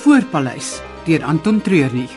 Voorpaleis deur Anton Treurnig.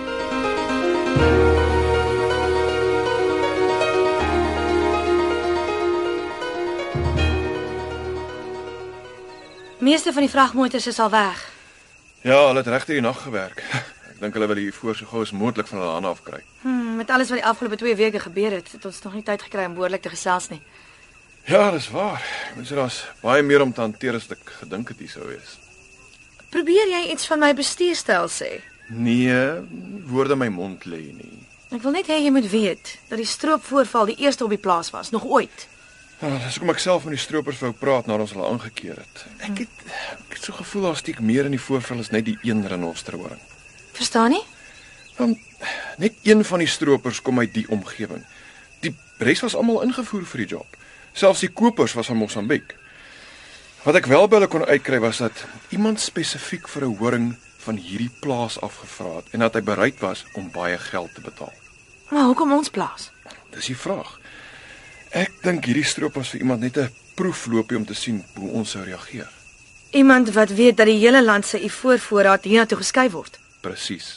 Meeste van die vragmotors is al weg. Ja, hulle het regtig die nag gewerk. Ek dink hulle wil hier voor so gou as moontlik van hulle hande afkry. Met alles wat die afgelope 2 weke gebeur het ons nog nie tyd gekry om behoorlik te gesels nie. Ja, dis waar. Mens sê daar's baie meer om te hanteer as ek gedink het hier sou wees. Probeer jy iets van my bestuurstyl sê? Nee, woorde in my mond lê nie. Ek wil net hê jy moet weet dat die stroopvoorval die eerste op die plaas was, nog ooit. Ja, dis hoekom ek self met die stroopers wou praat nadat ons hulle aangekeer het. Ek het so gevoel daar steek meer in die voorval as net die een renosterhoring. Verstaan nie? Want net een van die stroopers kom uit die omgewing. Die res was almal ingevoer vir die job. Selfs die kopers was van Mosambiek. Wat ek wel by hulle kon uitkry was dat iemand spesifiek vir 'n horing van hierdie plaas afgevra het en dat hy bereid was om baie geld te betaal. Maar hoekom ons plaas? Dis die vraag. Ek dink hierdie stroop was vir iemand net 'n proefloopie om te sien hoe ons sou reageer. Iemand wat weet dat die hele land se ivoorvoorraad hiernatoe geskuif word. Presies.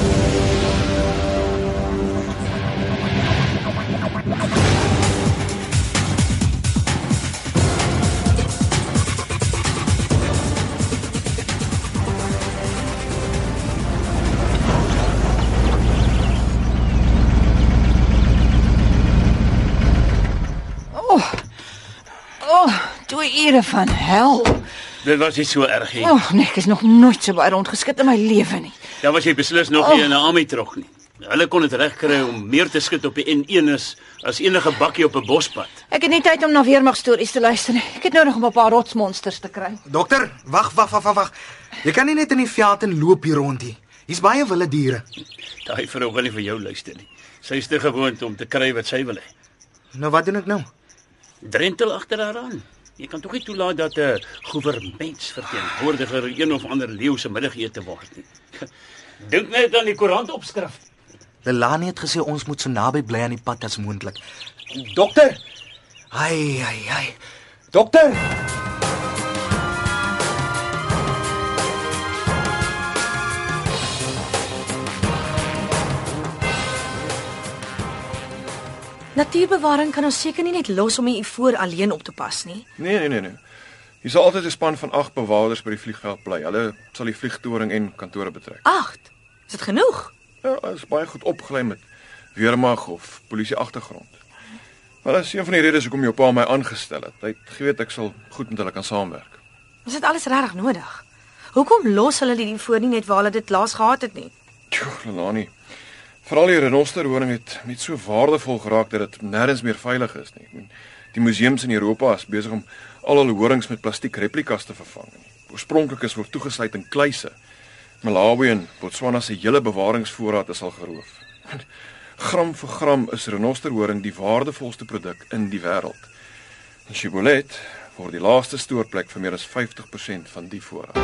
Ure van hel. Dit was nie so erg nie. Nee, ek is nog nooit so baie rondgeskit in my lewe nie. Dan was jy beslis nog nie in 'n army trog nie. Hulle kon dit regkry om meer te skit op die N1 as enige bakkie op 'n bospad. Ek het nie tyd om na weermagstories te luister nie. Ek het nodig om 'n paar rotsmonsters te kry. Dokter, wag. Jy kan nie net in die veld en loop hier rond nie. Hier's baie wilde diere. Daai vrou wil nie vir jou luister nie. Sy is te gewoond om te kry wat sy wil hê. Nou wat doen ek nou? Drentel agter haar aan. Jy kan tog nie toelaat dat 'n goevermentsverteenwoordiger een of ander leeu se middagete word nie. Dink net aan die koerantopskrif. Delani het gesê ons moet so naby bly aan die pad as moontlik. Dokter! Ai. Dokter! Natuurbewaring kan ons seker nie net los om die ivoor alleen op te pas nie. Nee. Hier sal altyd 'n span van 8 bewaarders by die vliegveld bly. Hulle sal die vliegtoring en kantore betrek. 8? Is dit genoeg? Ja, is baie goed opgelei met weermag of polisie agtergrond. Maar dit is een van die redes hoekom jou pa my aangestel het. Hy het geweet ek sal goed met hulle kan saamwerk. Is dit alles regtig nodig? Hoekom los hulle die ivoor nie net waar hulle dit laas gehad het nie? Lelani. Veral die renosterhoring het net so waardevol geraak dat dit nêrens meer veilig is nie. Die museums in Europa is besig om al hul horings met plastiek replikas te vervang. Oorspronklikes word toegesluit in kluise. Malawi en Botswana se hele bewaringsvoorraad is al geroof. Gram vir gram is renosterhoring die waardevolste produk in die wêreld. In Shibboleth word die laaste stoorplek vir meer as 50% van die voorraad.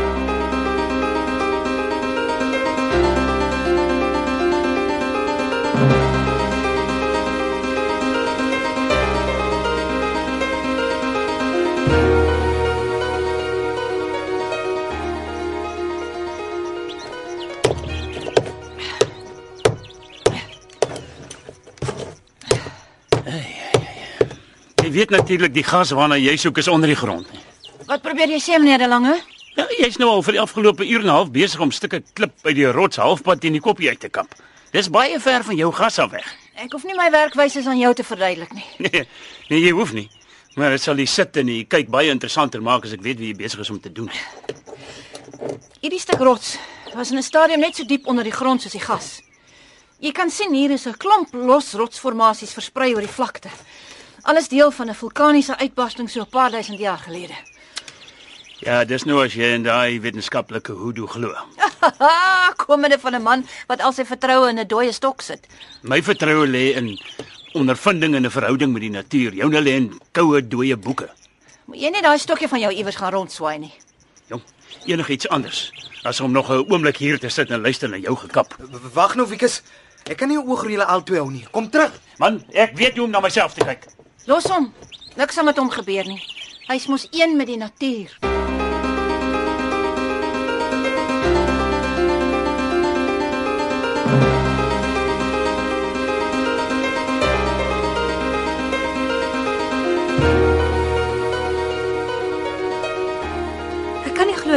Jy weet natuurlik die gas waarna jy soek is onder die grond. Wat probeer jy sê, meneer De Lange? Ja, jy's nou al vir die afgelope uur en 'n half besig om stukke klip uit die rots halfpad teen die koppie uit te kap. Dis baie ver van jou gas af weg. Ek hoef nie my werkwyse aan jou te verduidelik nie. Nee, jy hoef nie. Maar dit sal die sit en die kyk baie interessanter maak as ek weet wie jy besig is om te doen. Hierdie stuk rots was in 'n stadium net so diep onder die grond soos die gas. Jy kan sien hier is 'n klomp los rotsformasies versprei oor die vlakte. Alles deel van 'n vulkaniese uitbarsting so 'n paar duisend jaar gelede. Ja, dis nou as jy in daai wetenskaplike hoedoe glo. Komende van 'n man wat al sy vertroue in 'n dooie stok sit. My vertroue lê in ondervinding en 'n verhouding met die natuur. Joune lê in koue dooie boeke. Moet jy net daai stokkie van jou iewers gaan rondswaai nie. Jong, enigiets anders as om nog 'n oomblik hier te sit en luister na jou gekap. Wag nou, Wikus. Ek kan nie oog oor julle albei hou nie. Kom terug. Man, ek weet hoe om na myself te kyk. Los hom. Niks sal met hom gebeur nie. Hy's mos een met die natuur.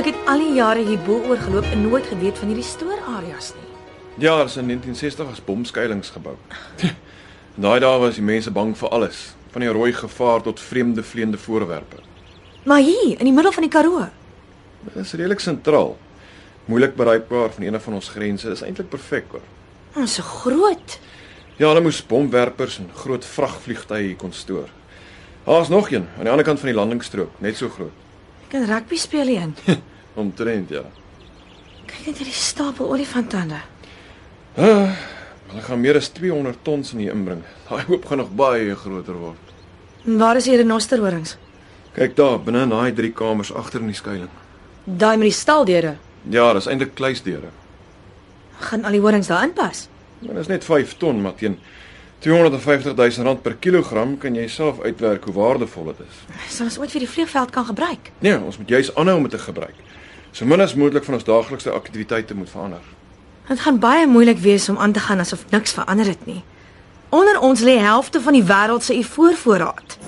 Ek het al die jare hierbo oorgeloop en nooit geweet van hierdie stoorareas nie. Ja, is in 1960 as bomskuilings gebou. In daai dae was die mense bang vir alles, van die rooi gevaar tot vreemde vleiende voorwerpe. Maar hier, in die middel van die Karoo. Dit is redelik sentraal. Moeilik bereikbaar van een van ons grense. Dit is eintlik perfek hoor. Ons so groot. Ja, hulle moes bomwerpers en groot vragvliegtuie hier kon stoor. Daar's nog een aan die ander kant van die landingsstrook, net so groot. Ek kan rugby speel hierin. Omtrent ja. Kyk net hierdie stapel olifantande. Hulle gaan meer as 200 tons in hier inbring. Daai hoop gaan nog baie groter word. En waar is die renosterhorings? Kyk daar, binne in daai 3 kamers agter in die skuilings. Daai met die staldeure. Ja, dis eintlik kluisdeure. Gaan al die horings daarin pas? Dit is net 5 ton, maar teen 250 000 rand per kilogram kan jy self uitwerk hoe waardevol dit is. Sal ons ooit vir die vliegveld kan gebruik? Nee, ons moet juis aanhou om dit te gebruik. So min as moontlik van ons daaglikse aktiwiteite moet verander. Dit gaan baie moeilik wees om aan te gaan asof niks verander het nie. Onder ons lê helfte van die wêreld se ivoorvoorraad.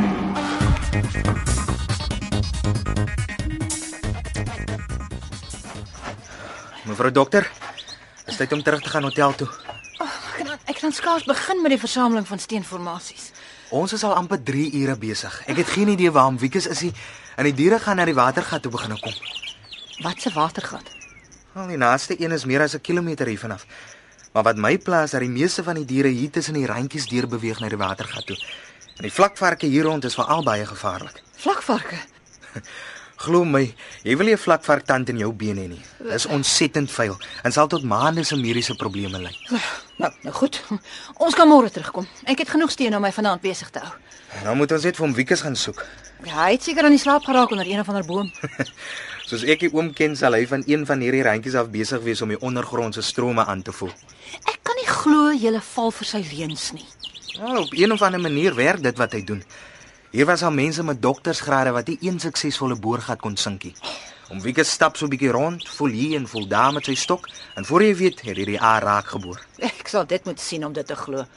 Mevrou dokter, is tyd om terug te gaan hotel toe. Ek kan skaars begin met die versameling van steenformasies. Ons is al amper 3 ure besig. Ek het geen idee waarom Wikus is nie en die diere gaan na die watergat toe begin kom. Wat 'n watergat? Wel, die naaste een is meer as 'n kilometer hiervan af. Maar wat my pla is dat die meeste van die diere hier tussen die randjies deur beweeg na die watergat toe. En die vlakvarke hier rond is veral baie gevaarlik. Vlakvarke. Glo my, jy wil nie 'n vlakvarktand in jou been hê nie. Dis ontsettend vuil en sal tot maande se mediese probleme lei. Nou goed. Ons kan môre terugkom. Ek het genoeg steen om my vanaand besig te hou. Nou moet ons net vir hom Wikus gaan soek. Ja, hy het seker aan die slaap geraak onder een of ander boom. Soos ek die oom ken, sal hy van een van hierdie randjies af besig wees om die ondergrondse strome aan te voel. Ek kan nie glo jy val vir sy leuns nie. Ja, op een of ander manier werk dit wat hy doen. Hier was al mense met doktersgrade wat nie een suksesvolle boorgat kon sink nie. Om Wikus stap so 'n bietjie rond, voel hier en voel daar met sy stok en voor jy weet, het hy die aar raak geboor. Ek sal dit moet sien om dit te glo.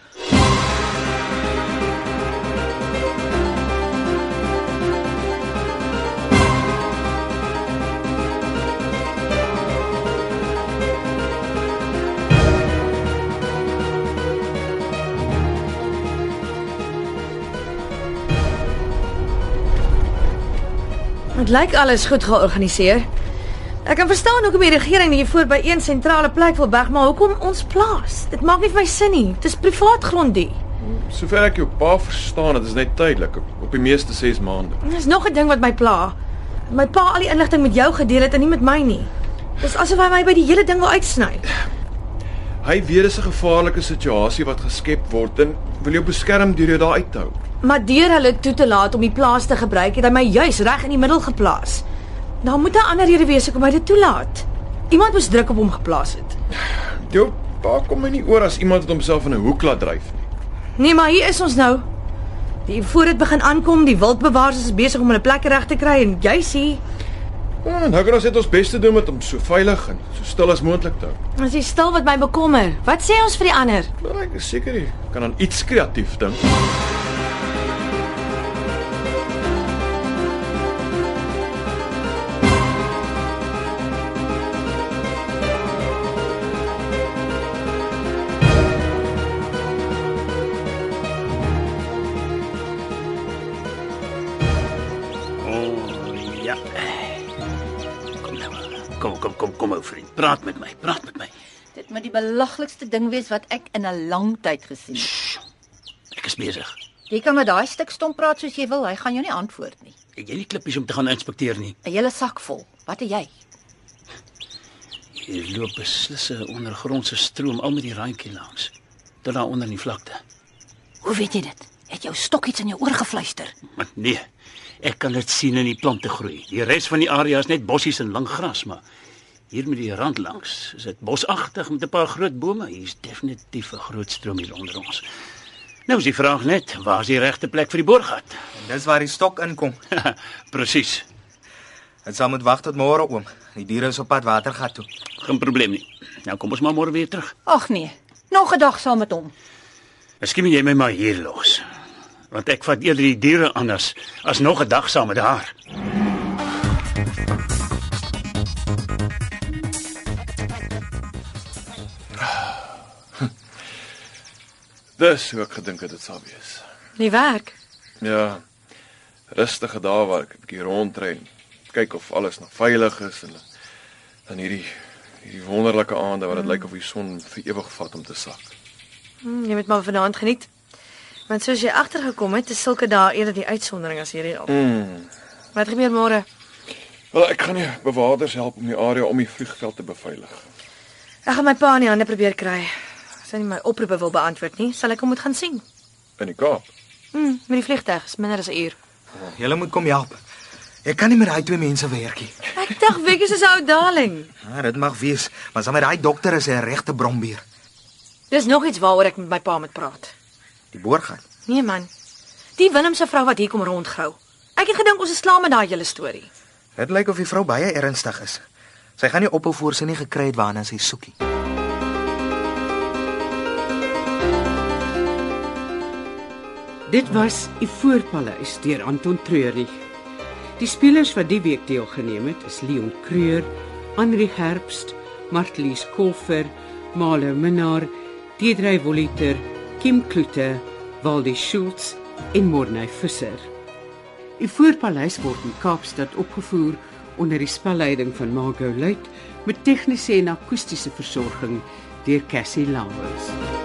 Dit lyk alles goed georganiseer. Ek kan verstaan hoekom die regering hier voor by een sentrale plek wil weg, maar hoekom ons plaas? Dit maak nie vir my sin nie. Dit is privaat grond die. Sover ek jou pa verstaan, dit is net tydelik, op die meeste 6 maande. Dis nog 'n ding wat my pla. My pa al die inligting met jou gedeel het en nie met my nie. Dis asof hy my by die hele ding wil uitsny. Hy weet dis 'n gevaarlike situasie wat geskep word en wil jou beskerm deur jou daar uit te hou. Maar deur hulle toe te laat om die plaas te gebruik, het hy my juis reg in die middel geplaas. Daar moet 'n ander rede wees hoekom hy dit toelaat. Iemand moes druk op hom geplaas het. Jou pa kom my nie oor as iemand wat homself in 'n hoek laat dryf nie. Nee, maar hier is ons nou. Die voor dit begin aankom, die wildbewaarders is besig om hulle plekke reg te kry en jy sien, Ja, nou kan ons net ons bes te doen met hom so veilig en so stil as moontlik te hou. as jy stil wat my bekommer. Wat sê ons vir die ander? Maar ek is seker jy kan aan iets kreatief dink. Ja. Kom ou vriend. Praat met my. Dit moet die belaglikste ding wees wat ek in 'n lang tyd gesien het. Shh. Ek is besig. Jy kan met daai stuk stomp praat soos jy wil, hy gaan jou nie antwoord nie. Ek jy nie klippies om te gaan inspekteer nie. 'n Hele sak vol. Wat het jy? Hier loop beslis 'n ondergrondse stroom al met die randjie langs. Tot daar onder in die vlakte. Hoe weet jy dit? Het jou stok iets in jou oor gefluister? Maar nee, ek kan dit sien in die plante groei. Die res van die area is net bossies en lang gras, maar hier met die rand langs is dit bosagtig met 'n paar groot bome. Hier's definitief 'n groot stroom hier onder ons. Nou is die vraag net, waar is die regte plek vir die boorgat? En dis waar die stok inkom. Presies. Dit sal moet wag tot môre, oom. Die diere is op pad watergat toe. Geen probleem nie. Nou kom ons maar môre weer terug. Ag nee, nog 'n dag saam met hom. Miskien moet jy my maar hier los. Want ek vat eerder die diere anders as nog 'n dag saam met haar. Dis hoe ek gedink het dit sal wees. Nie werk. Ja, rustige dae waar ek 'n bietjie rondry en kyk of alles nog veilig is en dan hierdie wonderlike aande waar dit lyk of die son vir ewig vat om te sak. Jy moet maar vanaand geniet. Want soos jy agtergekom het, is sulke dae eerder die uitsondering as hierdie al. Wat gebeur môre? Wel, ek gaan die bewakers help om die area om die vliegveld te beveilig. Ek gaan my pa in die hande probeer kry. As hy nie my oproepe wil beantwoord nie, sal ek hom moet gaan sien. In die Kaap. Met die vliegtuig is minder as 'n uur. Julle moet kom help. Ek kan nie met daai twee mense werk nie. Ek dink Wiekus is 'n ou darling. Ja, dit mag wees, maar saam met daai dokter is hy 'n regte brombeer. Dis nog iets waaroor ek met my pa moet praat. Die boorgat. Nee man. Die Willem se vrou wat hier kom rondgrou. Ek het gedink ons is klaar met daai hele storie. Dit lyk of die vrou baie ernstig is. Sy gaan nie ophou voor sy nie gekry het waarna sy soekie. Dit was Ivoorpaleis deur Anton Treurnig. Die spelers wat die week deelgeneem het is Leon Creur, Henri Herbst, Martlies Kolfer, Malo Minnar, Deidre Voliter, Kim Kloete, Waldi Schultz en Morney Visser. Ivoorpaleis word in Kaapstad opgevoer onder die spelleiding van Margot Luit met tegniese en akoestiese versorging deur Cassie Lauwers.